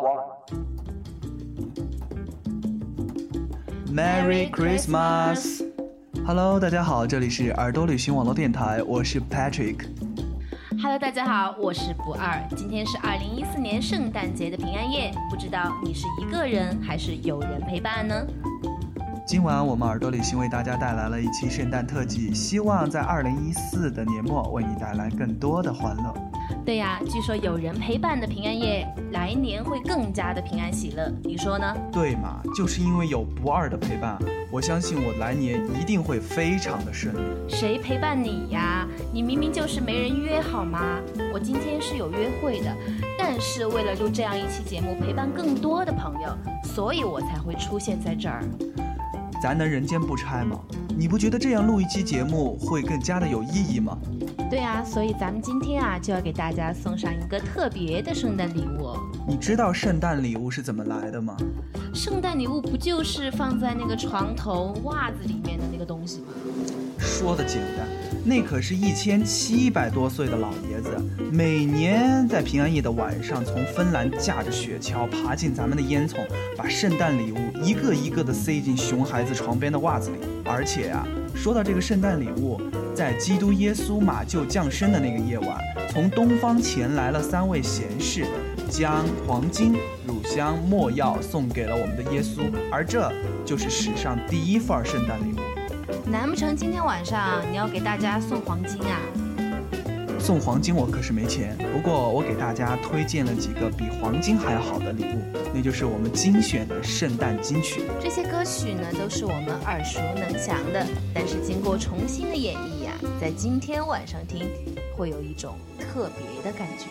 Merry Christmas! Hello， 大家好，这里是耳朵旅行网络电台，我是 Patrick。Hello， 大家好，我是不二。今天是2014年圣诞节的平安夜，不知道你是一个人还是有人陪伴呢？ 今晚我们耳朵旅行为大家带来了一期圣诞特辑，希望在2014的年末为你带来更多的欢乐。 对呀，据说有人陪伴的平安夜，来年会更加的平安喜乐，你说呢？ 对嘛，就是因为有不二的陪伴，我相信我来年一定会非常的顺利。 谁陪伴你呀？你明明就是没人约好吗？我今天是有约会的，但是为了录这样一期节目，陪伴更多的朋友，所以我才会出现在这儿。 咱能人间不拆吗？你不觉得这样录一期节目会更加的有意义吗？ 对啊，所以咱们今天就要给大家送上一个特别的圣诞礼物哦。 你知道圣诞礼物是怎么来的吗？ 圣诞礼物不就是放在那个床头袜子里面的那个东西吗？ 说的简单，那可是1700多岁的老爷子，每年在平安夜的晚上，从芬兰驾着雪橇爬进咱们的烟囱，把圣诞礼物一个一个的塞进熊孩子床边的袜子里。而且说到这个圣诞礼物，在基督耶稣马厩降生的那个夜晚，从东方前来了3位贤士，将黄金、乳香、没药送给了我们的耶稣，而这就是史上第一份圣诞礼物。 难不成今天晚上你要给大家送黄金啊？ 送黄金我可是没钱，不过我给大家推荐了几个比黄金还好的礼物，那就是我们精选的圣诞金曲。 这些歌曲呢，都是我们耳熟能详的，但是经过重新的演绎在今天晚上听，会有一种特别的感觉。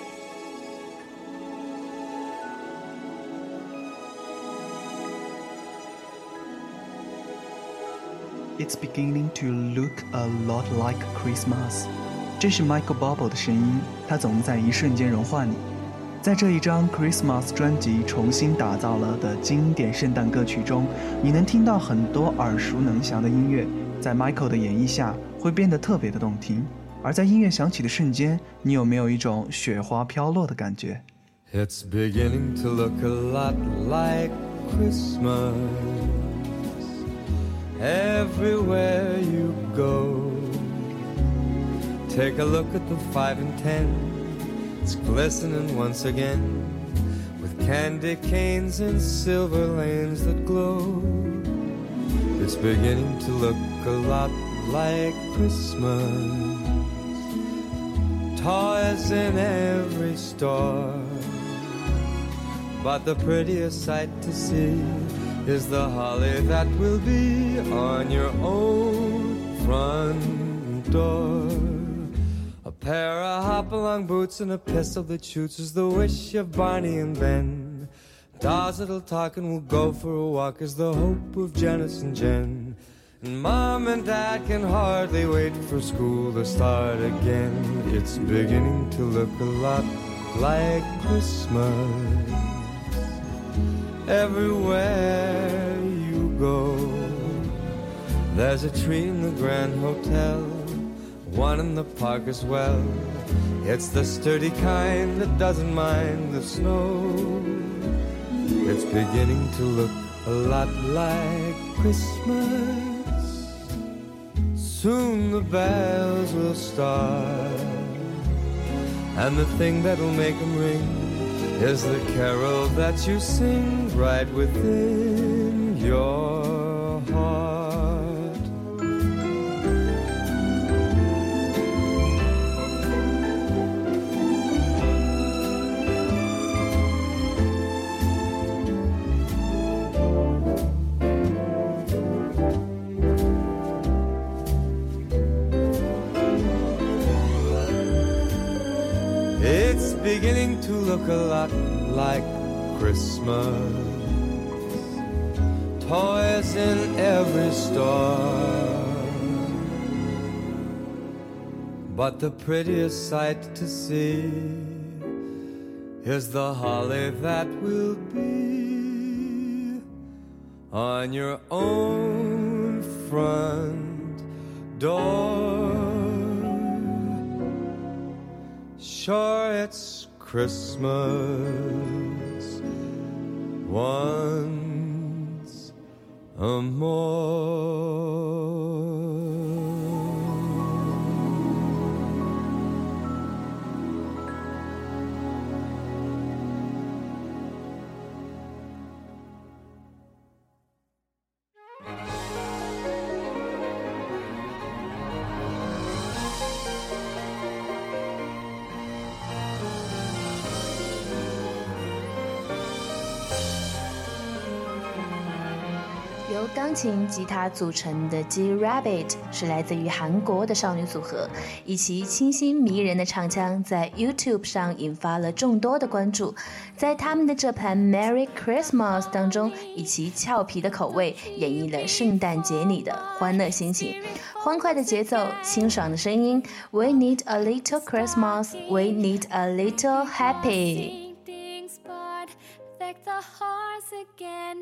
It's beginning to look a lot like Christmas。 这是 Michael Bublé 的声音，他总能在一瞬间融化你。在这一张 Christmas 专辑重新打造了的经典圣诞歌曲中，你能听到很多耳熟能详的音乐，在 Michael 的演绎下会变得特别的动听。而在音乐响起的瞬间，你有没有一种雪花飘落的感觉？ It's beginning to look a lot like Christmas everywhere you go. Take a look at the 5 and 10. It's glistening once again with candy canes and silver lanes that glow. It's beginning to look a lot like Christmas. Toys in every store, but the prettiest sight to see is the holly that will be on your own front door. A pair of hop-along boots and a pistol that shoots is the wish of Barney and Ben. Dolls that'll talk and will go for a walk is the hope of Janice and Jen. And Mom and Dad can hardly wait for school to start again. It's beginning to look a lot like Christmas everywhere you go. There's a tree in the Grand Hotel, one in the park as well. It's the sturdy kind that doesn't mind the snow. It's beginning to look a lot like Christmas. Soon the bells will start, and the thing that'll make them ring is the carol that you sing right within your heart. It's beginning to look a lot like Christmas. Toys in every store, but the prettiest sight to see is the holly that will be on your own front door. Sure, it's Christmas once more. 由钢琴、吉他组成的 G-Rabbit 是来自于韩国的少女组合，以其清新迷人的唱腔在 YouTube 上引发了众多的关注。在他们的这盘 Merry Christmas 当中，以其俏皮的口味演绎了圣诞节里的欢乐心情。欢快的节奏，清爽的声音 We need a little Christmas, we need a little happy. The hearts again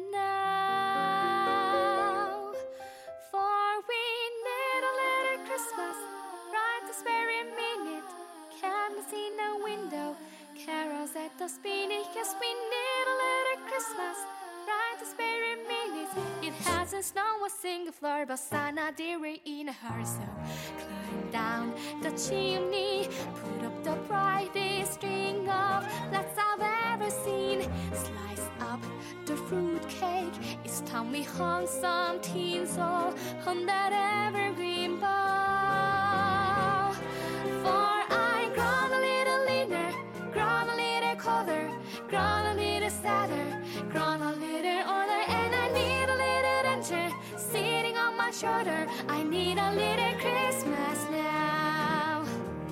now, for we need a little Christmas right this very minute. Candles in the window, carols at the spinning. Yes, we need a little Christmas right this very minute. It hasn't snowed a single floor, but Santa dear in a heart. So climb down the chimney, put up the brightest string of lights I've ever seen. Slice up the fruit cake, it's time we hung some tinsel on that evergreen bough. For I grown a little leaner, grown a little colder, grown a little sadder, grown a little older, and I need a little danger sitting on my shoulder. I need a little Christmas now.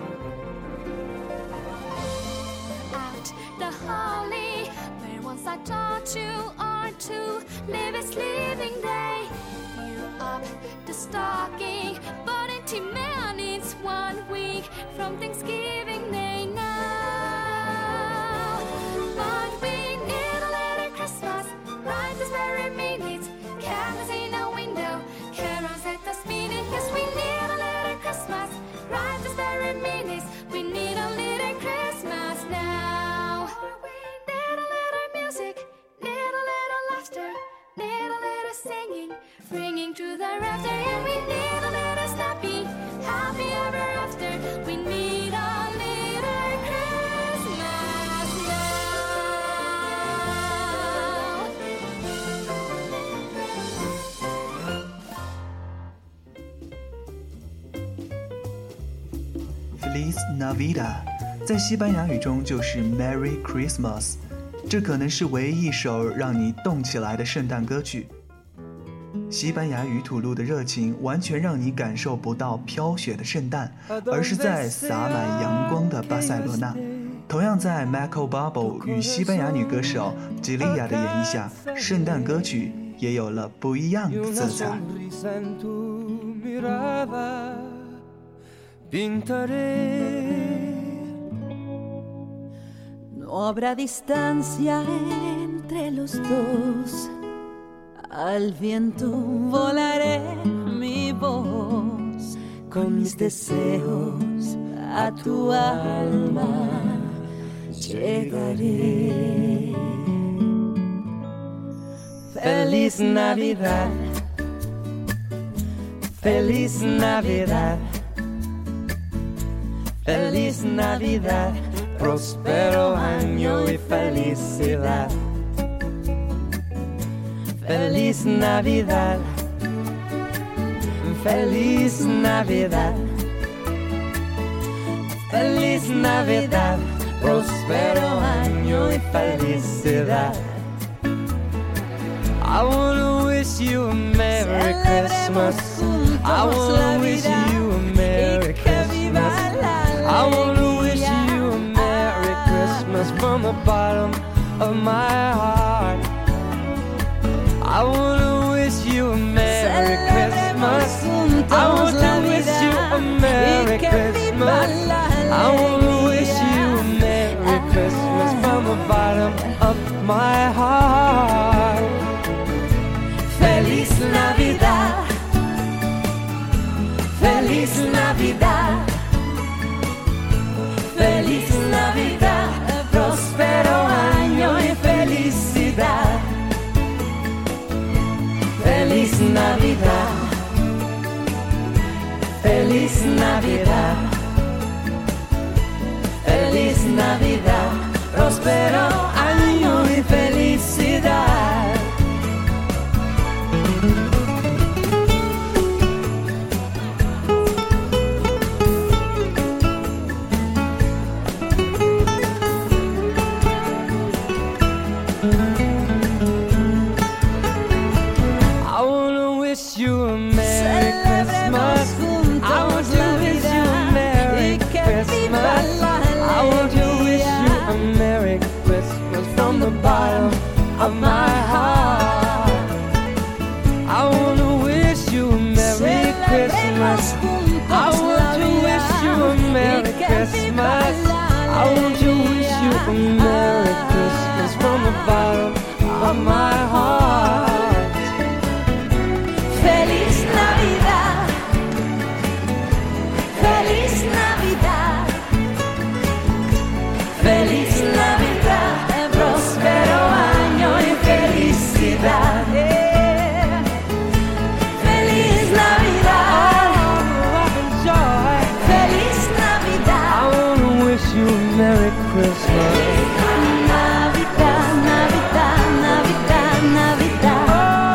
Out the holly, where once I taught you are to live its living day. Fill up the stocking, but empty man needs 1 week from Thanksgiving Day now. But we need a little Christmas right this very minute. Candles in the window, carols at the spinning. Yes, we need a little Christmas right this very minute. We need a little Christmas now. We need a little music, need a little laughter, need a little singing, ringing through the rafter. And we need a little snappy, happy ever after. We need a little Christmas now. Feliz Navidad 在西班牙语中就是 Merry Christmas， 这可能是唯一一首让你动起来的圣诞歌曲。西班牙语吐露的热情完全让你感受不到飘雪的圣诞，而是在洒满阳光的巴塞罗那。同样在 Michael Bublé 与西班牙女歌手 Gilia 的演绎下，圣诞歌曲也有了不一样的色彩。 No habrá distancia entre los dos, al viento volaré mi voz, con mis deseos a tu alma llegaré. Feliz Navidad, Feliz Navidad, Feliz Navidad, próspero año y felicidad. Feliz Navidad, Feliz Navidad, Feliz Navidad, próspero año y felicidad. I wanna wish you a Merry Christmas. I wanna wish you a Merry Christmas. I wanna wish you a Merry Christmas from the bottom of my heart. I wanna wish you a Merry Christmas. I wanna wish you a Merry Christmas. I wanna wish you a Merry Christmas from the bottom of my heart. Feliz Navidad, Feliz Navidad, Feliz Navidad, próspero año y felicidad. Navidad, próspero año y felicidad. I wanna wish you a Merry Christmas. I want to wish you a Merry Christmas. I want to wish you a Merry Christmas from the bottom of my heart. I want to wish you a Merry Christmas. I want to wish you a Merry Christmas. I want to wish you a Merry Christmas from the bottom of my heart. Feliz Navidad, Feliz Navidad, Feliz Navidad, próspero año y felicidad. Feliz Navidad, Love and joy. Feliz Navidad, I wanna wish you a Merry Christmas. Navidad, Navidad, Navidad, Navidad.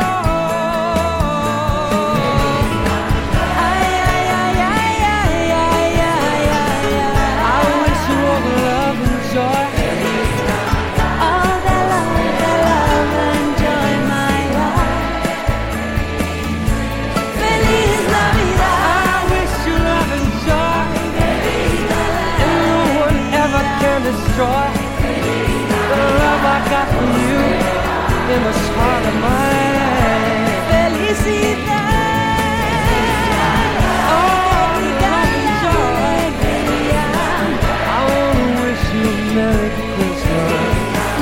Ay, ay, ay, ay, ay, ay, ay, ay, I wish you all the love and joy. all the love and joy, my life. Feliz Navidad, I wish you love and joy. And no one ever can destroy the love I got for you in the heart of my life. felicidad. Oh, love and joy. I wanna wish you a Merry Christmas.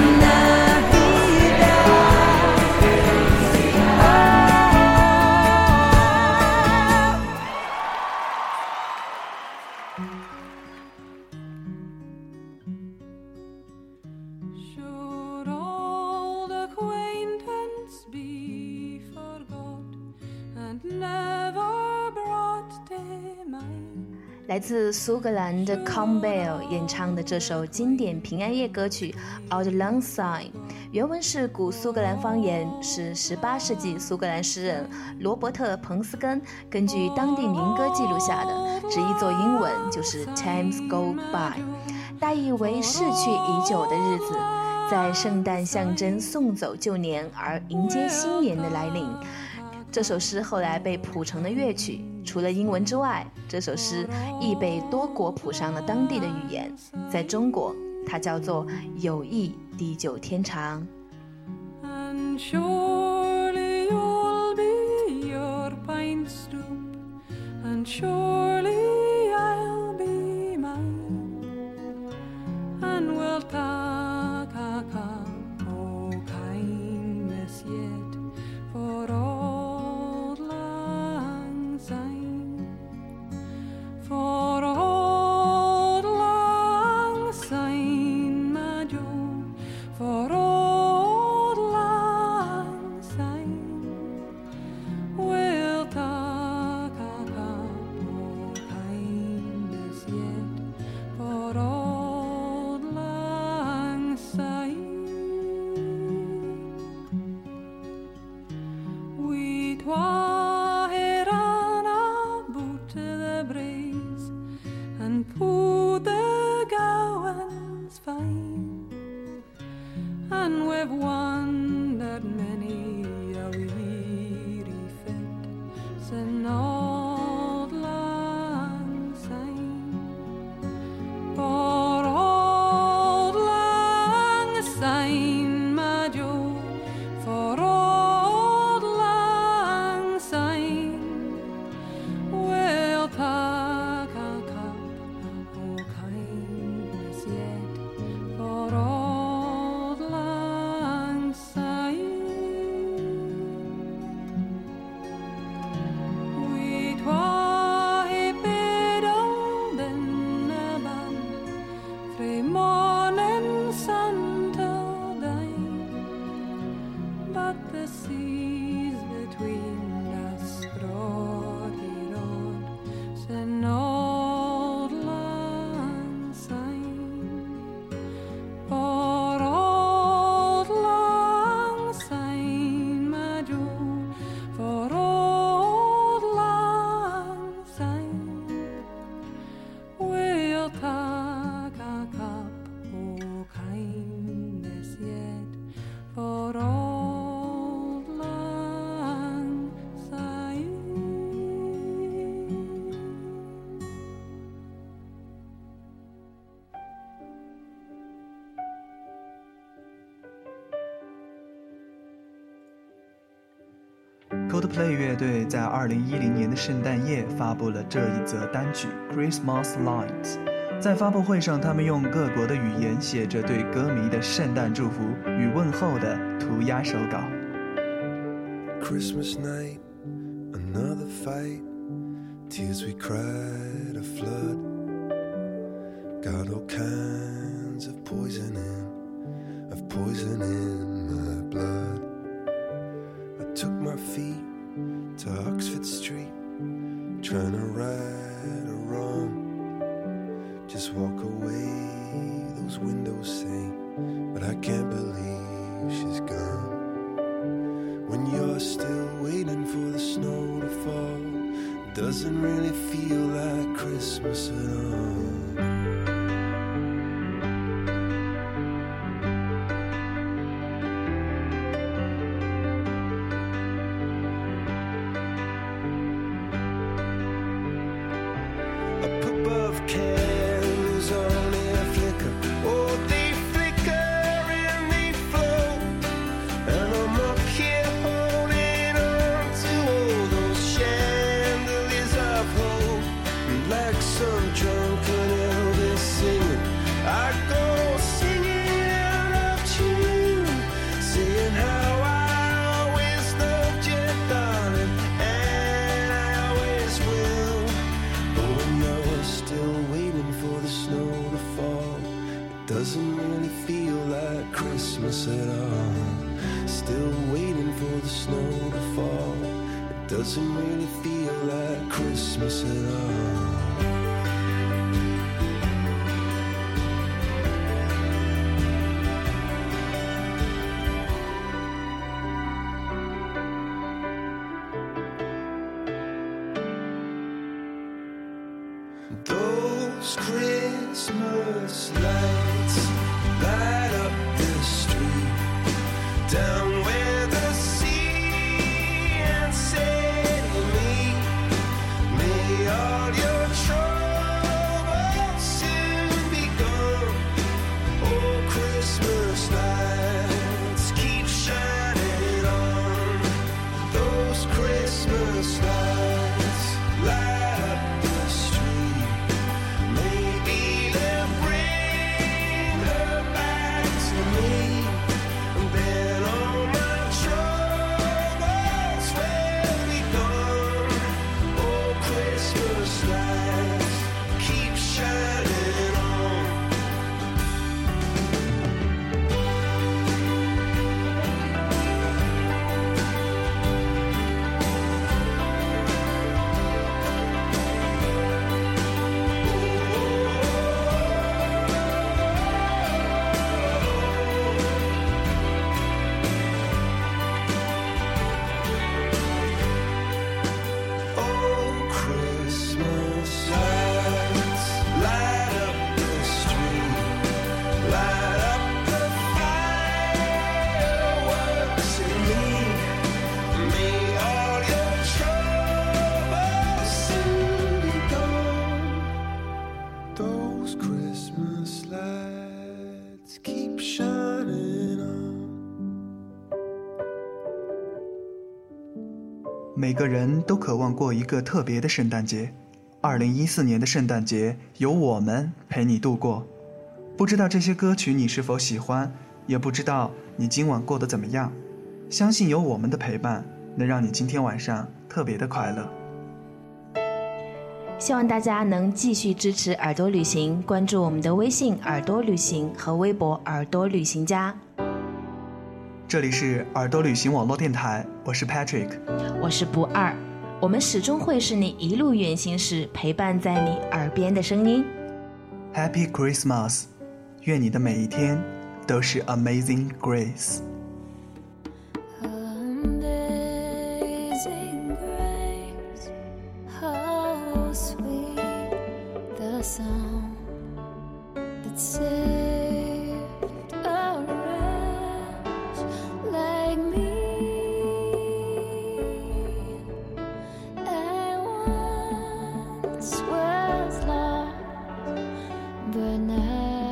Should old acquaintance be forgot and never brought to mind? 来自苏格兰的 Campbell 演唱的这首经典平安夜歌曲《Auld Lang Syne》，原文是古苏格兰方言，是18世纪苏格兰诗人罗伯特·彭斯根根据当地民歌记录下的，直译作英文就是 Times Go By， 大意为逝去已久的日子，在圣诞象征送走旧年而迎接新年的来临。这首诗后来被谱成了乐曲，除了英文之外，这首诗亦被多国谱上了当地的语言。在中国，它叫做友谊地久天长。 And surely you'll be your pine stoop, and surely I'll be mine, and we'll talk oh kindness yet for old lang syne, for old lang syne, my Joe, for old lang syne, we'll talk oh kindness yet for old lang syne. We twa hae ran aboot the braes and pu'd the gowans fine, and we've wandered many a weary fet sin auld lang syne. For auld lang syne, my Joe, for auld lang syne, we'll tak a cup o' kindness yet for auld lang syne. We Coldplay 乐队在2010年的圣诞夜发布了这一则单曲 Christmas Lights。 在发布会上，他们用各国的语言写着对歌迷的圣诞祝福与问候的涂鸦手稿。 Christmas night, another fight, tears we cried a flood, got all kinds of poison in my blood. I took my feet to Oxford Street, trying to right a wrong. Just walk away, those windows say, but I can't believe she's gone. When you're still waiting for the snow to fall, it doesn't really feel like Christmas at all. Doesn't really feel like Christmas at all. Still waiting for the snow to fall. It doesn't really feel like Christmas at all. Those Christmas lights light up the street, down where the sea and say to me, may all your troubles soon be gone. Oh, Christmas lights keep shining on. Those Christmas lights light up the street. Maybe they'll bring her back to me, and then all my troubles will be gone. Oh, Christmas lights keep shining on. Oh, Christmas lights light up the street, light up the fireworks in me. May all your troubles soon be gone. Those Christmas lights keep shining on. 每个人都渴望过一个特别的圣诞节。2014年的圣诞节由我们陪你度过。不知道这些歌曲你是否喜欢，也不知道你今晚过得怎么样。相信有我们的陪伴，能让你今天晚上特别的快乐。 希望大家能继续支持耳朵旅行，关注我们的微信耳朵旅行和微博耳朵旅行家。 这里是耳朵旅行网络电台，我是 Patrick， 我是不二，我们始终会是你一路远行时陪伴在你耳边的声音。 Happy Christmas， 愿你的每一天都是 Amazing Grace。 Amazing grace, how sweet the sound that saved a wretch like me. I once was lost, but now